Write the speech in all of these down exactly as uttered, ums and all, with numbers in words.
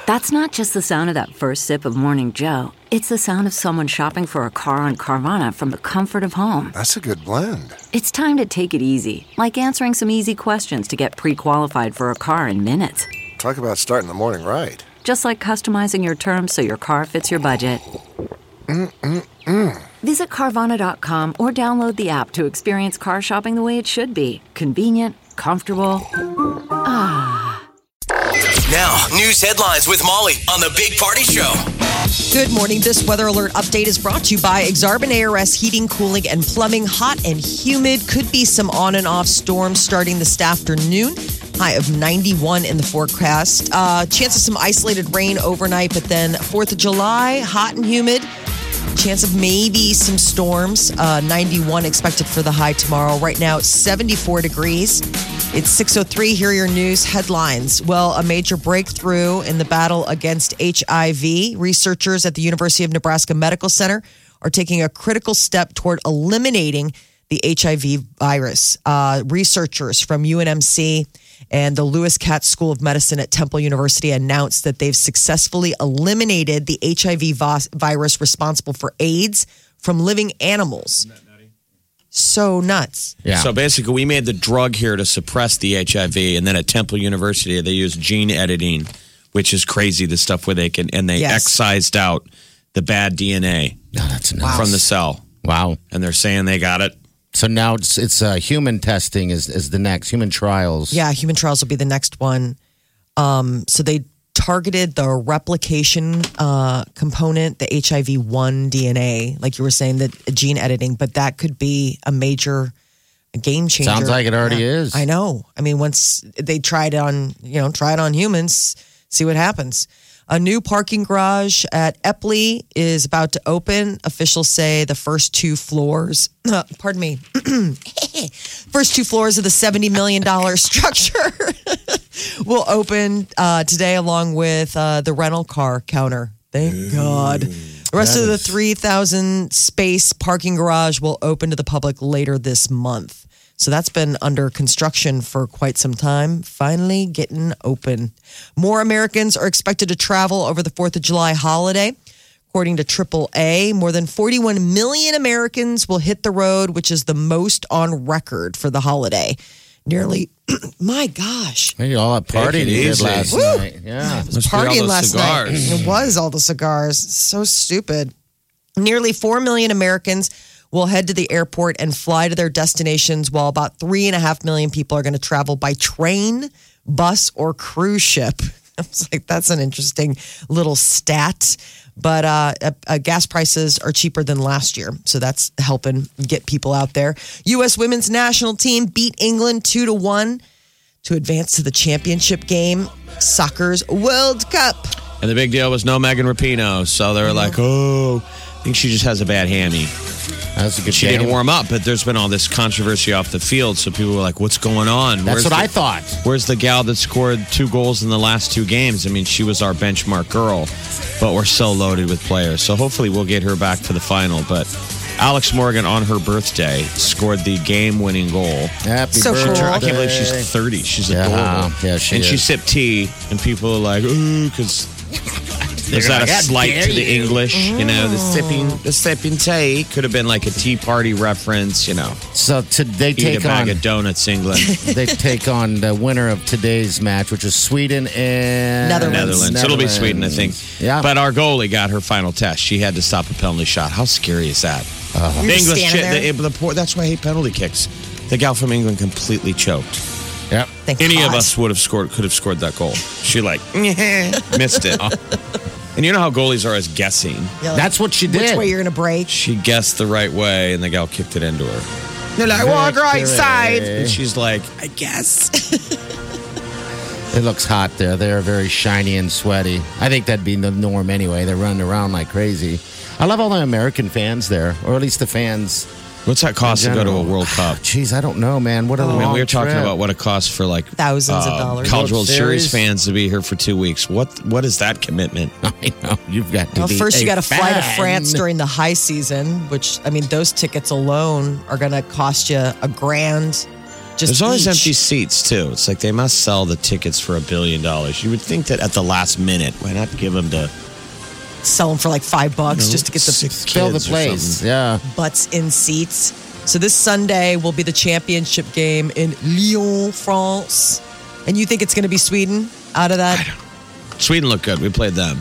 That's not just the sound of that first sip of Morning Joe. It's the sound of someone shopping for a car on Carvana from the comfort of home. That's a good blend. It's time to take it easy, like answering some easy questions to get pre-qualified for a car in minutes. Talk about starting the morning right. Just like customizing your terms so your car fits your budget. Mm-mm-mm. Visit Carvana dot com or download the app to experience car shopping the way it should be. Convenient, comfortable. Ah. Now, news headlines with Molly on the Big Party Show. Good morning. This weather alert update is brought to you by Exarban A R S Heating, Cooling, and Plumbing. Hot and humid. Could be some on and off storms starting this afternoon. High of ninety-one in the forecast. Uh, chance of some isolated rain overnight, but then fourth of July, hot and humid. Chance of maybe some storms. Uh, ninety-one expected for the high tomorrow. Right now, it's seventy-four degrees. It's six oh three. Here are your news headlines. Well, a major breakthrough in the battle against H I V. Researchers at the University of Nebraska Medical Center are taking a critical step toward eliminating the H I V virus. Uh, researchers from U N M C and the Lewis Katz School of Medicine at Temple University announced that they've successfully eliminated the H I V virus responsible for AIDS from living animals. So nuts. Yeah. So basically, we made the drug here to suppress the H I V, and then at Temple University, they use gene editing, which is crazy, the stuff where they can, and they Yes. excised out the bad D N A No, that's nuts. from the cell. Wow. And they're saying they got it. So now it's it's uh, human testing is, is the next, human trials. Yeah, human trials will be the next one. Um, so they targeted the replication uh, component, the H I V one D N A, like you were saying, the gene editing, but that could be a major game changer. Sounds like it already Yeah, is. I know. I mean, once they try it on, you know, try it on humans, see what happens. A new parking garage at Epley is about to open. Officials say the first two floors, uh, pardon me, first two floors of the seventy million dollars structure will open uh, today along with uh, the rental car counter. Thank God. The rest That of the is- three thousand space parking garage will open to the public later this month. So that's been under construction for quite some time. Finally getting open. More Americans are expected to travel over the fourth of July holiday. According to triple A, more than forty-one million Americans will hit the road, which is the most on record for the holiday. Nearly, my gosh. Maybe all that party Take it you did easy. last Woo! night. Yeah. was Must be all partying those last cigars. night. It was all the cigars. So stupid. Nearly four million Americans will head to the airport and fly to their destinations, while about three and a half million people are going to travel by train, bus, or cruise ship. I was like, that's an interesting little stat. But uh, uh, gas prices are cheaper than last year, so that's helping get people out there. U S women's national team beat England two to one to advance to the championship game, soccer's World Cup. And the big deal was no Megan Rapinoe. So they were like, oh, I think she just has a bad hammy. That's a good She game. didn't warm up, but there's been all this controversy off the field. So people were like, what's going on? That's Where's what the, I thought. Where's the gal that scored two goals in the last two games? I mean, she was our benchmark girl, but we're so loaded with players. So hopefully we'll get her back for the final. But Alex Morgan, on her birthday, scored the game-winning goal. Happy So cool. birthday. I can't believe she's thirty. She's Yeah, adorable. yeah, she and she is. sipped tea, and people are like, ooh, because... Is that like, a "How slight dare to the you." English? You know, the sipping, the sipping tea could have been like a tea party reference. You know, So to, they eat take a bag on of donuts, England, they take on the winner of today's match, which is Sweden and Netherlands. Netherlands. It'll be Sweden, I think. Yeah. But our goalie got her final test. She had to stop a penalty shot. How scary is that? Uh-huh. The You're just English, standing chi- there. the, the poor, that's why I hate penalty kicks. The gal from England completely choked. Yep. Thank Any God. of us would have scored, could have scored that goal. She like missed it. And you know how goalies are as guessing. Yeah, like, That's what she Which did. way you're going to break? She guessed the right way, and the gal kicked it into her. They're like, walk right side. And she's like, I guess. It looks hot there. They're very shiny and sweaty. I think that'd be the norm anyway. They're running around like crazy. I love all the American fans there, or at least the fans. What's that cost to go to a general. World Cup? Jeez, I don't know, man. What a I long mean, we were talking trip. about what it costs for like Thousands of uh, dollars. College World World Series Series fans to be here for two weeks. What what is that commitment? I know. You've got to Well, be first you a got to fly to fan. France during the high season, which, I mean, those tickets alone are going to cost you a grand. Just There's always each. empty seats, too. It's like they must sell the tickets for a billion dollars. You would think that at the last minute, why not give them to Sell them for like five bucks just to get the six Fill the kids or place. something? Yeah. butts in seats. So this Sunday will be the championship game in Lyon, France. And you think it's going to be Sweden out of that? Sweden looked good. We played them.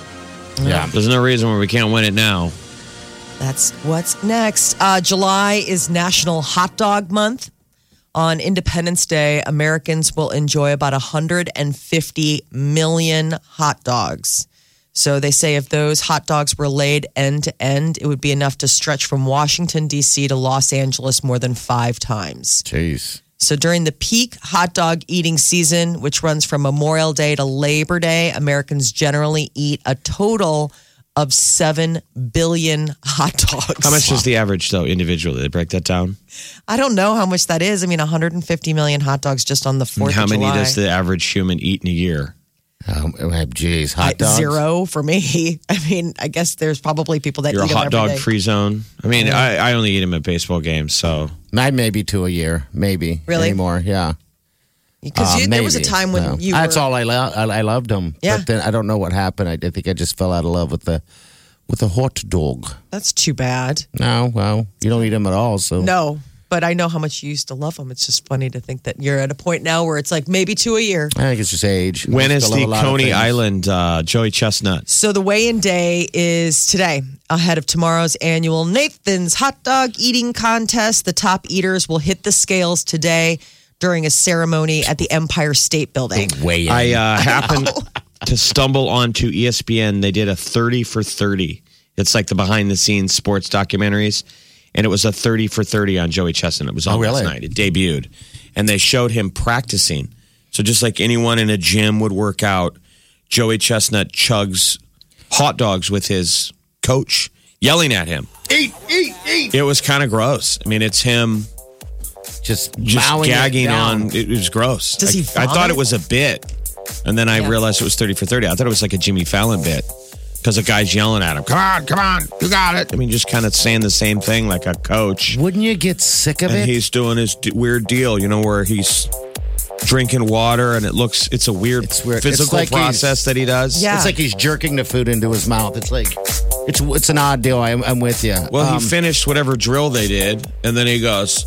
Yeah. There's no reason why we can't win it now. That's what's next. Uh, July is National Hot Dog Month. On Independence Day, Americans will enjoy about one hundred fifty million hot dogs. So they say if those hot dogs were laid end to end, it would be enough to stretch from Washington, D C to Los Angeles more than five times. Jeez. So during the peak hot dog eating season, which runs from Memorial Day to Labor Day, Americans generally eat a total of seven billion hot dogs. How much is the average, though, individually? They break that down? I don't know how much that is. I mean, one hundred fifty million hot dogs just on the fourth How of many July. does the average human eat in a year? Um, geez, hot I- dogs. Zero for me. I mean, I guess there's probably people that You're a eat them hot every dog day. free zone. I mean, I, I only eat them at baseball games, so I'd maybe two a year, maybe. Really? Anymore, yeah. Because Uh, you- there was a maybe. time when No. you That's were, all I, lo- I I loved them. Yeah. But then I don't know what happened. I, I think I just fell out of love with the with the hot dog. That's too bad. No, well, you don't eat them at all. So No, but I know how much you used to love them. It's just funny to think that you're at a point now where it's like maybe two a year. I think it's just age. when I is still love the a lot of Coney things. Island uh, Joey Chestnut? So the weigh-in day is today, ahead of tomorrow's annual Nathan's Hot Dog Eating Contest. The top eaters will hit the scales today during a ceremony at the Empire State Building. Way in. I uh, happened to stumble onto E S P N. They did a thirty for thirty. It's like the behind the scenes sports documentaries. And it was a thirty for thirty on Joey Chestnut. It was on Oh, really? last night. It debuted. And they showed him practicing. So just like anyone in a gym would work out, Joey Chestnut chugs hot dogs with his coach yelling at him. Eat, eat, eat. It was kind of gross. I mean, it's him just just mowing it gagging down. on. It was gross. Does I, he I thought vomit? it was a bit. And then I Yeah. realized it was thirty for thirty. I thought it was like a Jimmy Fallon bit. Because the guy's yelling at him. Come on, come on. You got it. I mean, just kind of saying the same thing like a coach. Wouldn't you get sick of And it? he's doing his d- weird deal, you know, where he's drinking water and it looks, it's a weird, It's weird. It's physical like he's- process that he does. Yeah. It's like he's jerking the food into his mouth. It's like it's it's an odd deal. I'm, I'm with you. Well, Um, he finished whatever drill they did, and then he goes,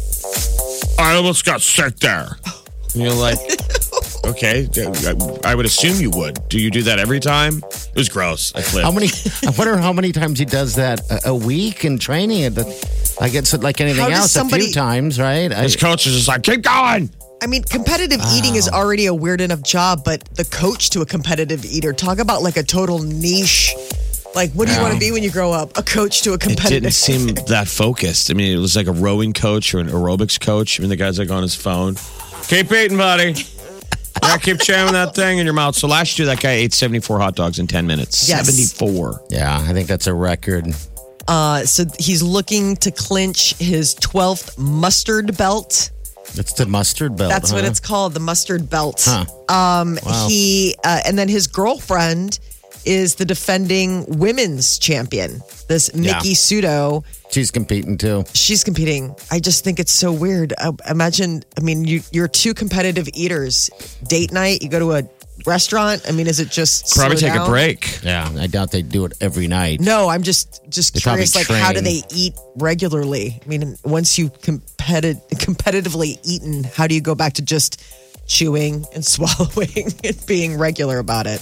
I almost got sick there. And you're like, okay, I would assume you would. Do you do that every time? It was gross. I flipped. How many? I wonder how many times he does that a, a week in training. It, I guess like anything How does else, a somebody- few times, right? I, His coach is just like, keep going. I mean, competitive eating is already a weird enough job, but the coach to a competitive eater, talk about like a total niche. Like, what do you want to be when you grow up? A coach to a It competitive didn't seem that focused. I mean, it was like a rowing coach or an aerobics coach. I mean, the guy's like on his phone. Keep eating, buddy. Yeah, keep jamming that thing in your mouth. So last year, that guy ate seventy-four hot dogs in ten minutes. Yes. seventy-four. yeah, I think that's a record. Uh, so he's looking to clinch his twelfth mustard belt. It's the mustard belt. That's what huh? it's called, the mustard belt. Huh. Um, He uh, and then his girlfriend is the defending women's champion. This Mickey Yeah. Sudo. She's competing too. She's competing. I just think it's so weird. Uh, imagine, I mean, you, you're two competitive eaters. Date night, you go to a restaurant. I mean, is it just Probably slow take a down? break. Yeah, I doubt they do it every night. No, I'm just just They probably curious. Like, how do train. they eat regularly? I mean, once you competi- competitively eaten, how do you go back to just chewing and swallowing and being regular about it?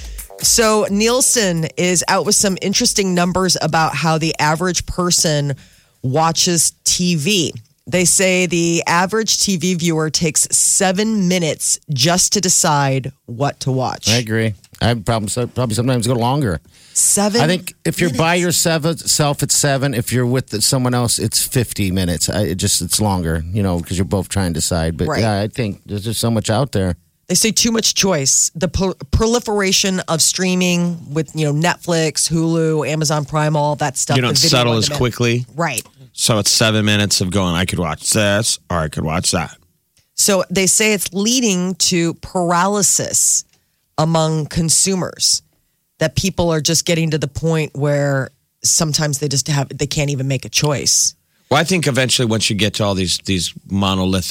So Nielsen is out with some interesting numbers about how the average person watches T V. They say the average T V viewer takes seven minutes just to decide what to watch. I agree. I probably probably sometimes go longer. Seven. I think if you're by minutes. yourself, it's seven. If you're with someone else, it's fifty minutes. I, it just it's longer, you know, because you're both trying to decide. But Right. yeah, I think there's just so much out there. They say too much choice. The pro- proliferation of streaming with, you know, Netflix, Hulu, Amazon Prime, all that stuff. You don't the video settle on as demand. quickly. Right. So it's seven minutes of going, I could watch this or I could watch that. So they say it's leading to paralysis among consumers, that people are just getting to the point where sometimes they just have, they can't even make a choice. Well, I think eventually once you get to all these these monolithic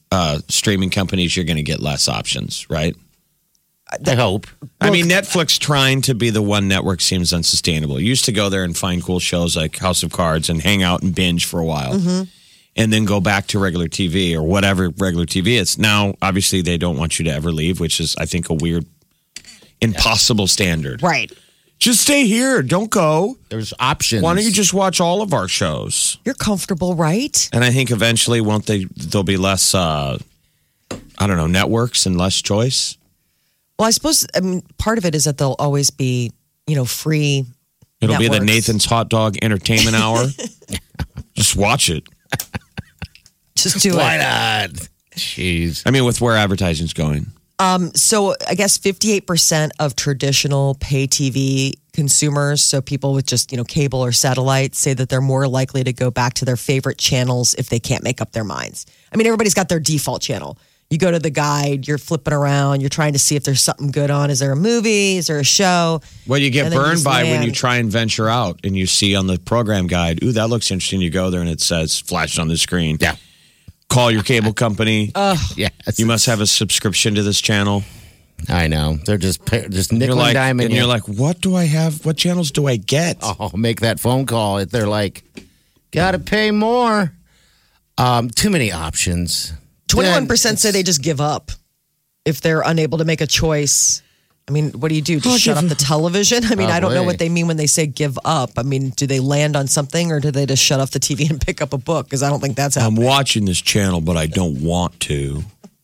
uh, streaming companies, you're going to get less options, right? I hope. I mean, Netflix trying to be the one network seems unsustainable. You used to go there and find cool shows like House of Cards and hang out and binge for a while. Mm-hmm. And then go back to regular T V or whatever regular T V is. Now, obviously, they don't want you to ever leave, which is, I think, a weird, impossible standard. Right. Just stay here. Don't go. There's options. Why don't you just watch all of our shows? You're comfortable, right? And I think eventually, won't they? There'll be less. Uh, I don't know, networks and less choice. Well, I suppose. I mean, part of it is that there'll always be, you know, free. It'll networks. be the Nathan's Hot Dog Entertainment Hour. Just watch it. Just do Why it. not? Jeez. I mean, with where advertising's going. Um, so I guess fifty-eight percent of traditional pay T V consumers, so people with just, you know, cable or satellite, say that they're more likely to go back to their favorite channels if they can't make up their minds. I mean, everybody's got their default channel. You go to the guide, you're flipping around, you're trying to see if there's something good on. Is there a movie? Is there a show? Well, you get And then you burned just by when land. you try and venture out and you see on the program guide, ooh, that looks interesting. You go there and it says, flashed on the screen. Yeah. Call your cable company. Yes. You must have a subscription to this channel. I know. They're just pa- just nickel You're like, and diming and you. you're like, what do I have? What channels do I get? Oh, make that phone call. They're like, gotta pay more. Um, too many options. twenty-one percent Then say they just give up if they're unable to make a choice. I mean, what do you do? Just Oh, shut give off the television? I mean, I don't know Probably. what they mean when they say give up. I mean, do they land on something or do they just shut off the T V and pick up a book? Because I don't think that's I'm happening. watching this channel, but I don't want to.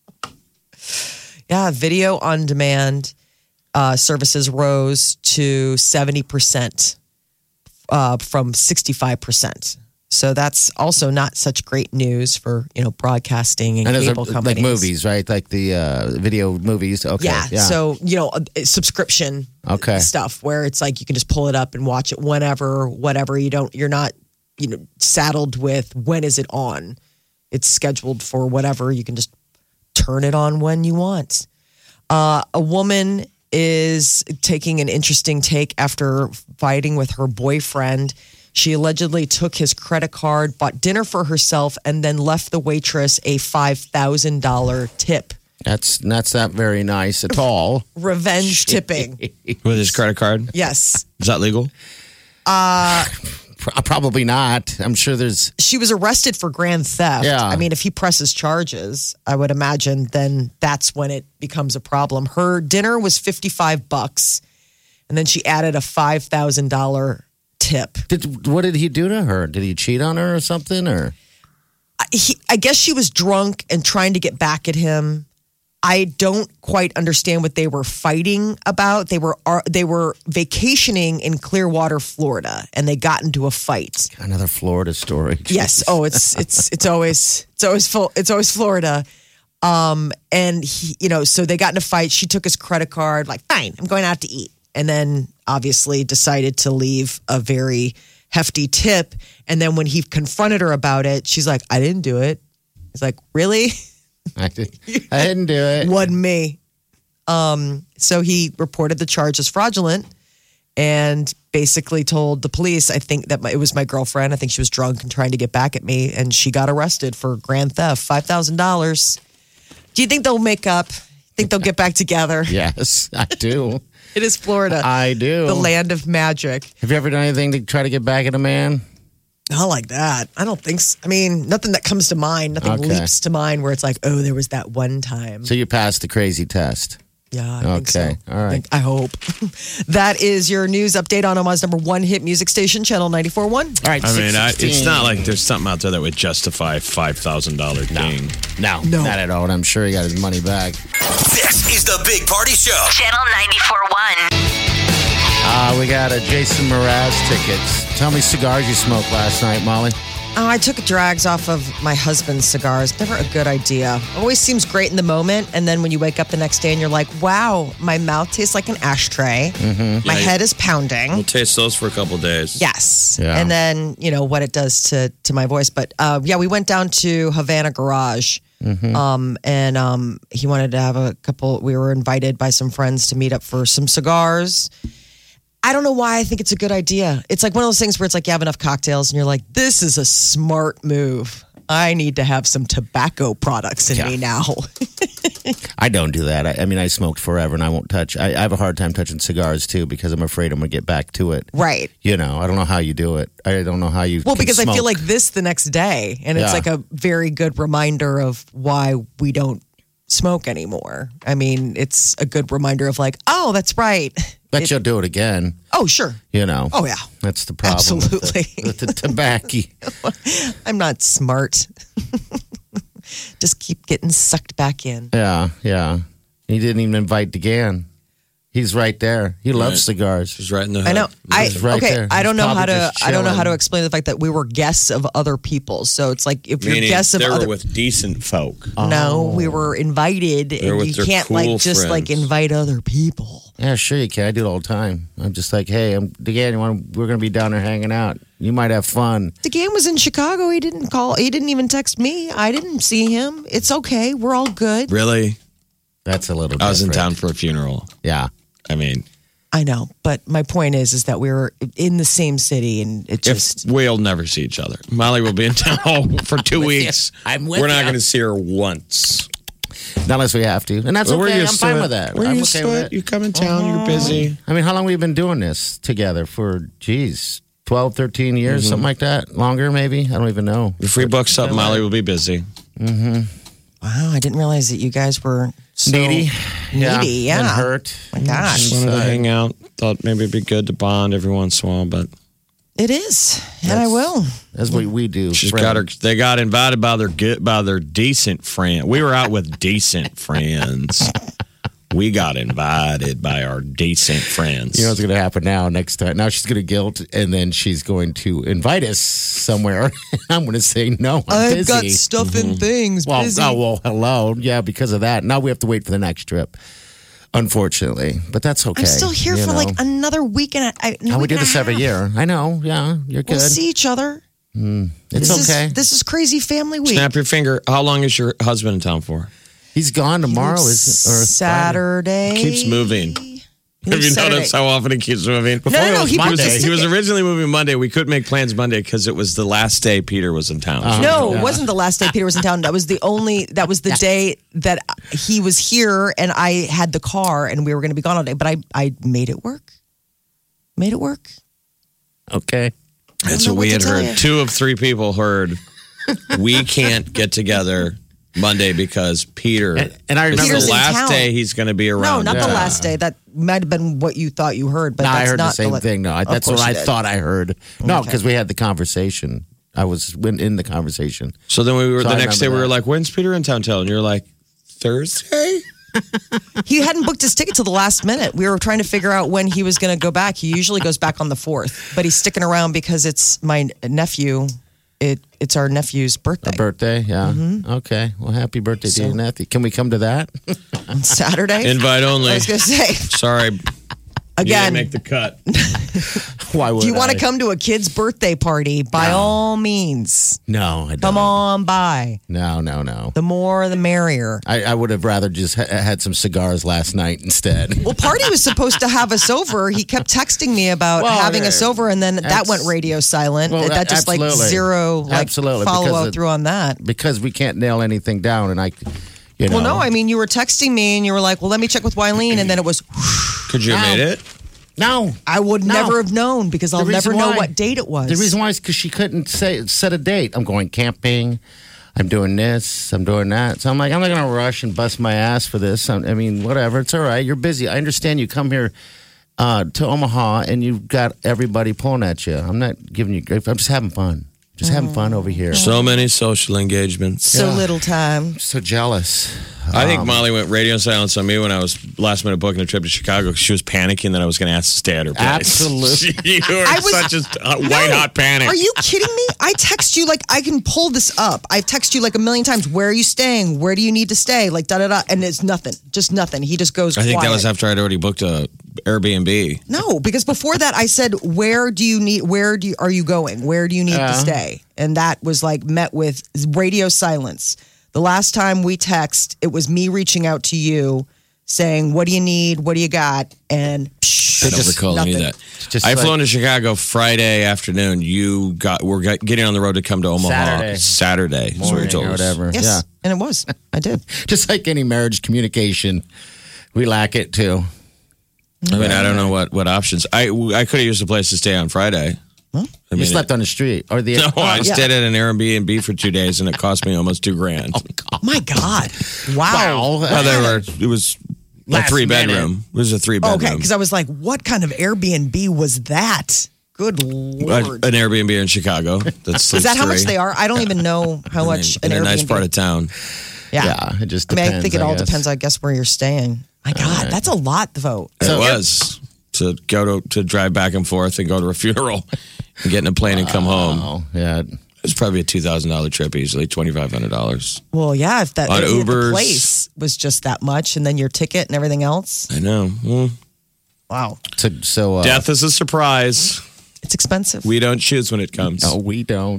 Yeah, video on demand uh, services rose to seventy percent uh, from sixty-five percent. So that's also not such great news for, you know, broadcasting and, And those cable are companies. like movies, right? Like the uh, video movies. Okay. Yeah, Yeah. so, you know, a- a subscription Okay. stuff where it's like you can just pull it up and watch it whenever, whatever. You don't, you're not, you know, saddled with when is it on. It's scheduled for whatever. You can just turn it on when you want. Uh, a woman is taking an interesting take after fighting with her boyfriend. She allegedly took his credit card, bought dinner for herself, and then left the waitress a five thousand dollars tip. That's that's not very nice at all. Revenge tipping. With his credit card? Yes. Is that legal? Pro- Probably not. I'm sure there's. She was arrested for grand theft. Yeah. I mean, if he presses charges, I would imagine then that's when it becomes a problem. Her dinner was fifty-five bucks, and then she added a five thousand dollars tip. Did, what did he do to her? Did he cheat on her or something? Or He, I guess she was drunk and trying to get back at him. I don't quite understand what they were fighting about. They were are- they were vacationing in Clearwater, Florida, and they got into a fight. another Florida story? Yes. Oh, it's it's it's always it's always full. It's always Florida. Um, and he, you know, so they got in a fight. She took his credit card. Like, fine, I'm going out to eat, and then obviously decided to leave a very hefty tip. And then when he confronted her about it, she's like, "I didn't do it." He's like, "Really? I, did, I didn't do it. Wasn't me." Um, so he reported the charge as fraudulent and basically told the police, I think that my, it was my girlfriend. I think she was drunk and trying to get back at me. And she got arrested for grand theft, five thousand dollars. Do you think they'll make up? Think they'll get back together? Yes, I do. It is Florida. I do. The land of magic. Have you ever done anything to try to get back at a man? Not like that. I don't think so. I mean, nothing that comes to mind. Nothing Okay. leaps to mind where it's like, oh, there was that one time. So you passed the crazy test. Yeah, I think so. Okay, all right. I, think- I hope. That is your news update on Omaha's number one hit music station, Channel ninety-four point one. All right. I mean, I, six it's sixteen. not like there's something out there that would justify a five thousand dollars ding. No, No. not at all. And I'm sure he got his money back. This is the Big Party Show. Channel ninety-four point one. Uh, we got a Jason Mraz tickets. Tell me cigars you smoked last night, Molly. Oh, I took drags off of my husband's cigars. Never a good idea. Always seems great in the moment. And then when you wake up the next day and you're like, wow, my mouth tastes like an ashtray. Mm-hmm. My Yeah, head is pounding. We'll taste those for a couple days. Yes. Yeah. And then, you know, what it does to, to my voice. But uh, yeah, we went down to Havana Garage. Um, and um, he wanted to have a couple, we were invited by some friends to meet up for some cigars. I don't know why I think it's a good idea. It's like one of those things where it's like you have enough cocktails and you're like, this is a smart move. I need to have some tobacco products in Yeah. me now. I don't do that. I, I mean, I smoked forever, and I won't touch. I, I have a hard time touching cigars too because I'm afraid I'm going to get back to it. Right. You know, I don't know how you do it. I don't know how you. Well, can because I smoke. feel like this the next day, and it's Yeah. like a very good reminder of why we don't smoke anymore. I mean, it's a good reminder of like, oh, that's right. Bet It- you'll do it again. oh, sure. You know. Oh, yeah. That's the problem. Absolutely. With the, with the tobacco. I'm not smart. Just keep getting sucked back in. Yeah, yeah. He didn't even invite DeGan. He's right there. He loves Right. cigars. She's right in the hood. I know. I He's right okay. there. I don't He's know how probably to. just I don't know how to chilling. explain the fact that we were guests of other people. So it's like if you're Meaning guests of they other. were with decent folk. no, we were invited, They're and with you their can't cool like just like friends. invite other people. Yeah, sure you can. I do it all the time. I'm just like, hey, I'm DeGan. You want? We're gonna be down there hanging out. You might have fun. DeGan was in Chicago. He didn't call. He didn't even text me. I didn't see him. It's okay. We're all good. Really? That's a little. I was in different. town for a funeral. Yeah. I mean, I know, but my point is, is that we were in the same city, and it if just. we'll never see each other. Molly will be in town for two with you. weeks. I'm with We're not you. going to see her once. Not unless we have to, and that's Well, we're okay. I'm used to fine it. with that. We're I'm used okay to with it. it. You come in town, you're busy. I mean, how long have we been doing this together? For, geez, twelve, thirteen years, Mm-hmm. something like that? Longer, maybe? I don't even know. If we book something, Molly will be busy. Wow, I didn't realize that you guys were so Needy. Needy, yeah. And hurt. My gosh. Just wanted to hang out. Thought maybe it'd be good to bond every once in a while, but It is, and I will. That's what we do. she's friend. got her. They got invited by their good, by their decent friend. We were out with decent friends. We got invited by our decent friends. You know what's going to happen now next time? Now she's going to guilt, and then she's going to invite us somewhere. I'm going to say, no, I'm I've busy. got stuff and things. well, busy. oh, well, hello. Yeah, because of that. Now we have to wait for the next trip, unfortunately. But that's okay. I'm still here you for know. like another week and a, I, How we do this every year. I know. Yeah, you're good. We'll see each other. It's this okay. Is, this is crazy family week. Snap your finger. How long is your husband in town for? He's gone tomorrow. Is or Saturday. Keeps moving. He Have you leaves Saturday. noticed how often he keeps moving? No, no, no. was He booked Monday. his He was ticket. originally moving Monday. We couldn't make plans Monday because it was the last day Peter was in town. Uh-huh. No, Yeah. it wasn't the last day Peter was in town. That was the only. That was the day that he was here, and I had the car, and we were going to be gone all day. But I, I made it work. Made it work. Okay. That's know what we what had to tell heard. you. Two of three people heard we can't get together Monday because Peter. And- and I it's remember- the Peter's in last town. day he's going to be No, around. not the Yeah. last day. That might have been what you thought you heard, but No, that's I heard not the same la- thing. No, I, Of that's what course I you did. thought I heard. No, Okay. because we had the conversation. I was in, in the conversation. So then we were So the I next day. remember We were that. like, "When's Peter in town?" Till and you're like, "Thursday." He hadn't booked his ticket till the last minute. We were trying to figure out when he was going to go back. He usually goes back on the fourth, but he's sticking around because it's my nephew. It it's our nephew's birthday A birthday, yeah. Okay. Well, happy birthday to So- you, Nathy. Can we come to that? on Saturday. Invite only. I was going to say Sorry, you again. didn't make the cut. Why would If you want I? to come to a kid's birthday party, by all means, No, I don't. come on by. No, no, no. The more, the merrier. I, I would have rather just ha- had some cigars last night instead. Well, Party was supposed to have us over. He kept texting me about Well, having yeah, us over, and then that that's- went radio silent. Well, that just like absolutely. zero like Absolutely, follow because out it- through on that. because we can't nail anything down, and I, you know. Well, no, I mean you were texting me and you were like, "Well, let me check with Wileen," and then it was, Could you have Ow. made it? no. I would No. never have known because I'll The never reason know why- what date it was. The reason why is because she couldn't say set a date. I'm going camping. I'm doing this. I'm doing that. So I'm like, I'm not going to rush and bust my ass for this. I'm, I mean, whatever. It's all right. You're busy. I understand you come here uh, to Omaha and you've got everybody pulling at you. I'm not giving you grief. I'm just having fun. Just having fun over here. So many social engagements. so little time. So jealous. I think Molly went radio silence on me when I was last minute booking a trip to Chicago because she was panicking that I was going to ask to stay at her place. Absolutely. you were I was- such a uh, white No. hot panic. Are you kidding me? I text you like I can pull this up. I've texted you like a million times. Where are you staying? Where do you need to stay? Like da da da, and it's nothing. Just nothing. He just goes. I think that quiet. was after I'd already booked a Airbnb. No, because before that I said, "Where do you need? Where do you, are you going? Where do you need to stay?" And that was like met with radio silence. The last time we text, it was me reaching out to you, saying, "What do you need? What do you got?" And psh, I don't just- recall any of nothing. that. Just I like- flew into Chicago Friday afternoon. You got we're got- getting on the road to come to Omaha Saturday. Saturday. is what you Morning told or us. whatever. Yes, Yeah. and it was. I did. Just like any marriage communication, we lack it too. I mean, I don't know what, what options. I I could have used a place to stay on Friday. I You mean, slept on the street or the No, I yeah. stayed at an Airbnb for two days, and it cost me almost two grand. Oh my God! Wow. Wow. Well, they were. It was a Last three minute. bedroom. It was a three Okay, bedroom. because I was like, what kind of Airbnb was that? Good lord! an Airbnb in Chicago. That's Is that how much they are? I don't even know how much in an a Airbnb. nice part of town. yeah. Yeah, it just I mean, depends. I think it all guess. depends. I guess where you're staying. My God, that's a lot, though. it was to go to to drive back and forth and go to a funeral and get in a plane and come home. Oh, yeah. It was probably a two thousand dollar trip easily, twenty five hundred dollars. Well, yeah, if that On if the Ubers. place was just that much, and then your ticket and everything else. I know. Well, Wow, So, so uh, death is a surprise. it's expensive. We don't choose when it comes. No, we don't.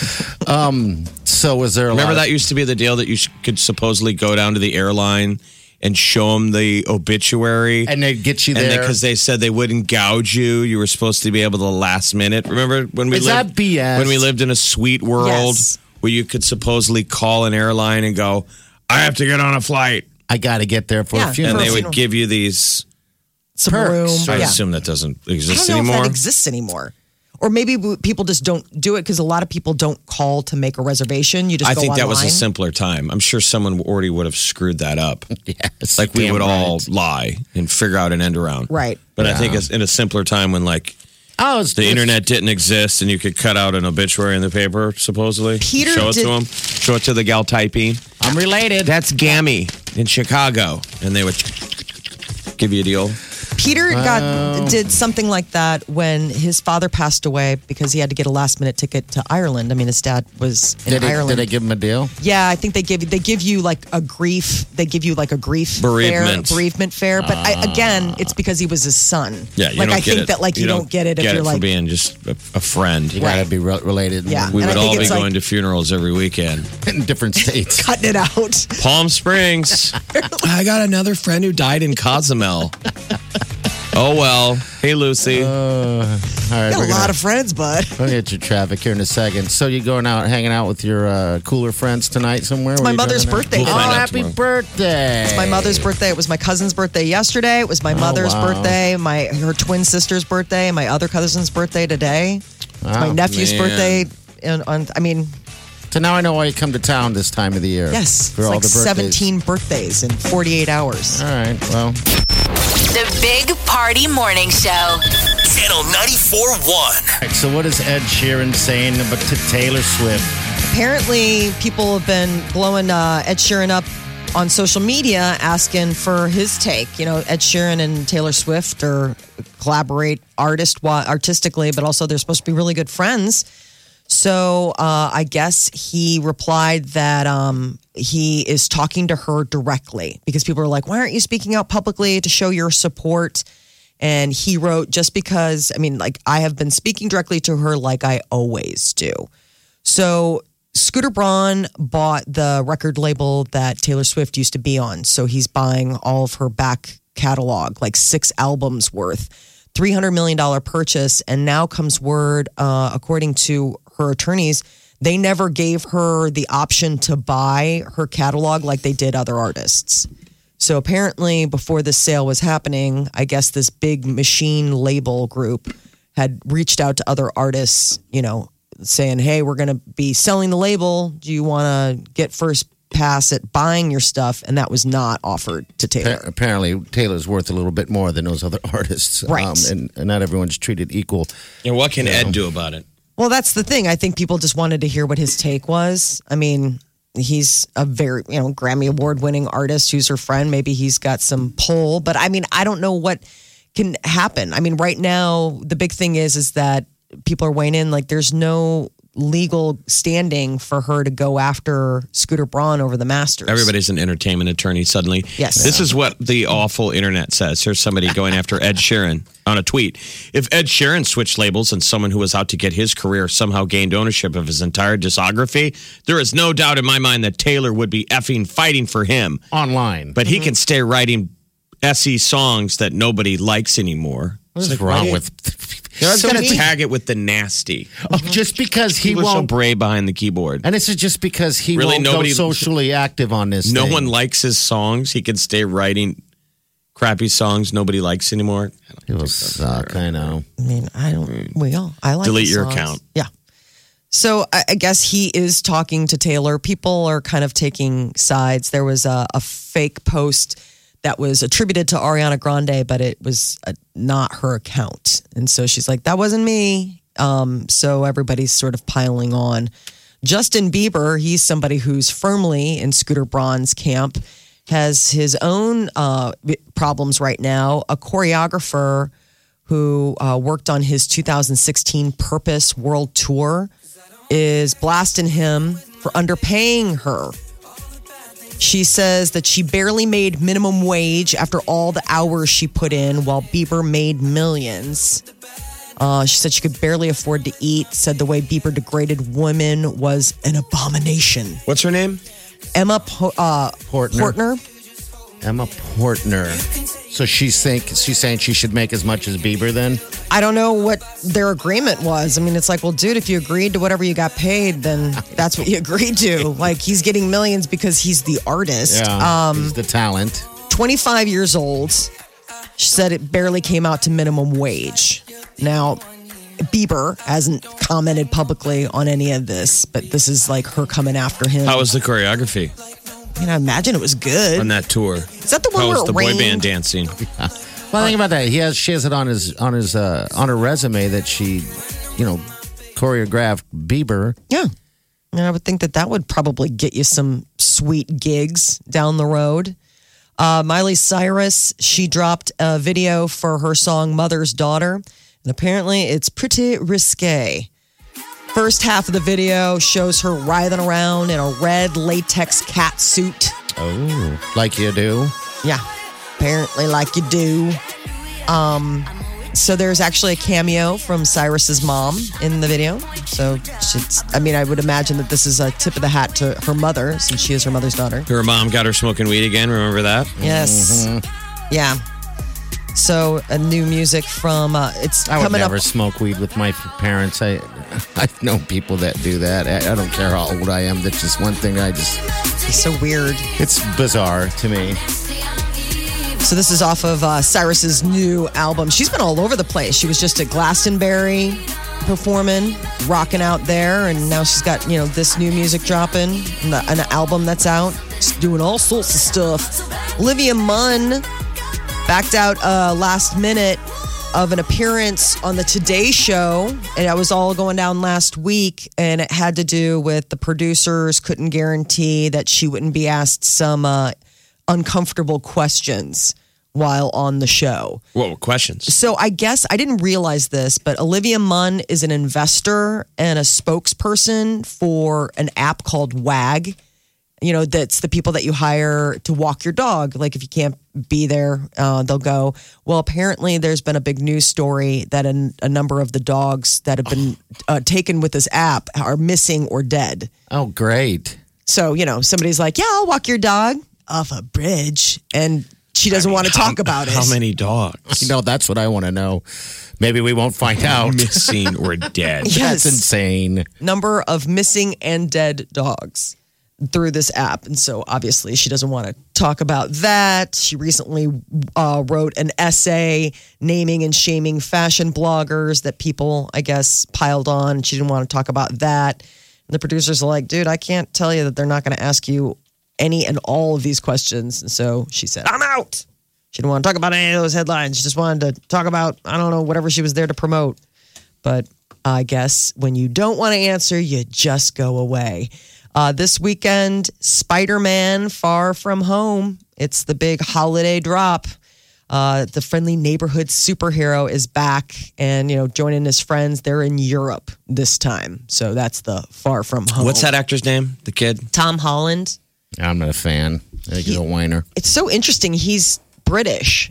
Um. So, was there a Remember lot that used to be the deal that you sh- could supposedly go down to the airline and show them the obituary. and they get you And there? because they said they wouldn't gouge you, you were supposed to be able to last minute. Remember when we Is lived that B S? when we lived in a sweet world Yes. where you could supposedly call an airline and go, "I have to get on a flight," I got to get there for Yeah, a funeral. and For a they funeral. would give you these. Some perks, room. right? I Yeah. assume that doesn't I exist don't know anymore. if that exists anymore. Or maybe w- people just don't do it because a lot of people don't call to make a reservation. You just I go think that was a online. simpler time. I'm sure someone already would have screwed that up. Yes, Like we damn would all right. lie and figure out an end around. Right. But I think it's in a simpler time when like Oh, it's the it's- internet didn't exist and you could cut out an obituary in the paper, supposedly. Peter Show it did- to them. Show it to the gal typing. I'm related. That's Gammy in Chicago. And they would give you a deal. Peter got did something like that when his father passed away because he had to get a last minute ticket to Ireland. I mean, his dad was in did, they, Ireland. did they give him a deal? Yeah, I think they give they give you like a grief. They give you like a grief Bereavement. fare, bereavement fare. But I, again, it's because he was his son. Yeah, you like don't I get think it. that like you, don't, get it if get you're it for like being just a, a friend. You got to Right. be re- related. Yeah. We And I would think all be it's like- going to funerals every weekend. in different states. cutting it out. Palm Springs. I got another friend who died in Cozumel. Oh, well. Hey, Lucy. Uh, all right, Got we're a lot gonna, of friends, bud. we'll get your traffic here in a second. So you going out, hanging out with your uh, cooler friends tonight somewhere? It's my mother's birthday. We'll Oh, find out happy tomorrow. birthday! It's my mother's birthday. It was my cousin's birthday yesterday. It was my mother's wow. birthday, my her twin sister's birthday, and my other cousin's birthday today. It's my Wow. nephew's man. birthday. And on, I mean, So now I know why you come to town this time of the year. yes, for it's all like the birthdays. seventeen birthdays in forty-eight hours. All right, well, The Big Party Morning Show. Channel ninety-four point one. all right, so what is Ed Sheeran saying about to Taylor Swift? Apparently, people have been blowing uh, Ed Sheeran up on social media, asking for his take. You know, Ed Sheeran and Taylor Swift are collaborate artist artistically, but also they're supposed to be really good friends. So uh, I guess he replied that um, he is talking to her directly because people are like, why aren't you speaking out publicly to show your support? And he wrote, just because, I mean, like, I have been speaking directly to her like I always do. So Scooter Braun bought the record label that Taylor Swift used to be on. So he's buying all of her back catalog, like six albums worth, three hundred million dollars purchase. And now comes word, uh, according to her attorneys, they never gave her the option to buy her catalog like they did other artists. So apparently, before this sale was happening, I guess this big machine label group had reached out to other artists, you know, saying, hey, we're going to be selling the label. Do you want to get first pass at buying your stuff? And that was not offered to Taylor. Pa- apparently, Taylor's worth a little bit more than those other artists. Right. Um, and, and not everyone's treated equal. And what can Ed do about it? Well, that's the thing. I think people just wanted to hear what his take was. I mean, he's a very, you know, Grammy Award winning artist who's her friend. Maybe he's got some pull, but I mean, I don't know what can happen. I mean, right now, the big thing is, is that people are weighing in. Like, there's no legal standing for her to go after Scooter Braun over the Masters. Everybody's an entertainment attorney suddenly. Yes. This is what the awful internet says. Here's somebody going after Ed Sheeran on a tweet. If Ed Sheeran switched labels and someone who was out to get his career somehow gained ownership of his entire discography, there is no doubt in my mind that Taylor would be effing fighting for him. Online. But he can stay writing Essie songs that nobody likes anymore. What's It's like, wrong why with? They're always So going to many- tag it with the nasty. Oh, just because he He was so won't. brave behind the keyboard. And this is just because he Really, won't nobody- go socially active on this. No thing. one likes his songs. He can stay writing crappy songs nobody likes anymore. I don't It will think that's suck. fair. I know. I mean, I don't. We all. I like Delete the your songs. account. Yeah. So I, I guess he is talking to Taylor. People are kind of taking sides. There was a, a fake post that was attributed to Ariana Grande, but it was uh not her account. And so she's like, that wasn't me. Um, so everybody's sort of piling on. Justin Bieber, he's somebody who's firmly in Scooter Braun's camp, has his own uh, problems right now. A choreographer who uh, worked on his two thousand sixteen Purpose World Tour is blasting him for underpaying her. She says that she barely made minimum wage after all the hours she put in while Bieber made millions. Uh, she said she could barely afford to eat, said the way Bieber degraded women was an abomination. What's her name? Emma po- uh, Portner. Portner. Emma Portner. So she's think she's saying she should make as much as Bieber then? I don't know what their agreement was. I mean, it's like, well, dude, if you agreed to whatever you got paid, then that's what you agreed to. Like, he's getting millions because he's the artist. Yeah. He's the talent. twenty-five years old. She said it barely came out to minimum wage. Now, Bieber hasn't commented publicly on any of this, but this is like her coming after him. How was the choreography I mean, I imagine it was good. on that tour? Is that the one How where was the it boy rained? band dancing? Well, think about that. He has she has it on his on his uh, on her resume that she, you know, choreographed Bieber. Yeah. And I would think that that would probably get you some sweet gigs down the road. Uh, Miley Cyrus, she dropped a video for her song Mother's Daughter, and apparently it's pretty risque. First half of the video shows her writhing around in a red latex cat suit. Oh, like you do. Yeah, apparently like you do. Um, so there's actually a cameo from Cyrus's mom in the video. So she's, I mean, I would imagine that this is a tip of the hat to her mother, since she is her mother's daughter. Her mom got her smoking weed again. Remember that? Yes. Yeah. So a new music from uh, it's I would coming never up. smoke weed with my parents. I I know people that do that. I, I don't care how old I am. That's just one thing. I just It's so weird. it's bizarre to me. So this is off of uh, Cyrus's new album. She's been all over the place. She was just at Glastonbury performing, rocking out there, and now she's got, you know, this new music dropping, and the, an album that's out. She's doing all sorts of stuff. Olivia Munn backed out uh, last minute of an appearance on the Today Show, and that was all going down last week, and it had to do with the producers couldn't guarantee that she wouldn't be asked some uh, uncomfortable questions while on the show. What were questions? So I guess I didn't realize this, but Olivia Munn is an investor and a spokesperson for an app called WAG. You know, that's the people that you hire to walk your dog. Like if you can't be there, uh, they'll go. Well, apparently there's been a big news story that a, a number of the dogs that have been uh, taken with this app are missing or dead. Oh, great. So, you know, somebody's like, yeah, I'll walk your dog off a bridge. And she doesn't want to talk about it. How many dogs? You know, that's what I want to know. Maybe we won't find out. Missing or dead? Yes. That's insane. Number of missing and dead dogs through this app. And so obviously she doesn't want to talk about that. She recently uh, wrote an essay naming and shaming fashion bloggers that people, I guess, piled on. She didn't want to talk about that. And the producers are like, dude, I can't tell you that they're not going to ask you any and all of these questions. And so she said, I'm out. She didn't want to talk about any of those headlines. She just wanted to talk about, I don't know, whatever she was there to promote. But I guess when you don't want to answer, you just go away. Uh, this weekend, Spider-Man Far From Home. It's the big holiday drop. Uh, the friendly neighborhood superhero is back and, you know, joining his friends. They're in Europe this time. So that's the Far From Home. What's that actor's name? The kid? Tom Holland. I'm not a fan. I think he's a whiner. It's so interesting. He's British.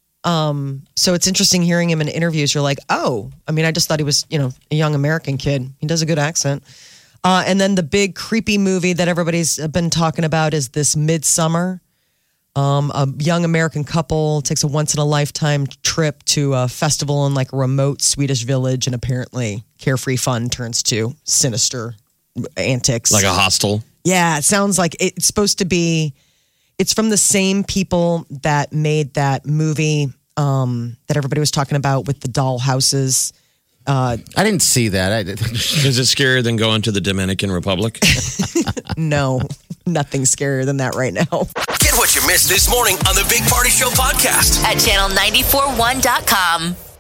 Um, so it's interesting hearing him in interviews. You're like, oh, I mean, I just thought he was, you know, a young American kid. He does a good accent. Uh, and then the big creepy movie that everybody's been talking about is this Midsummer. Um, a young American couple takes a once-in-a-lifetime trip to a festival in like a remote Swedish village, and apparently carefree fun turns to sinister antics. Like a hostel? Yeah, it sounds like it's supposed to be. It's from the same people that made that movie um, that everybody was talking about with the doll houses. Uh, I didn't see that. I, Is it scarier than going to the Dominican Republic? no, nothing scarier than that right now. Get what you missed this morning on the Big Party Show podcast At channel nine four one dot com.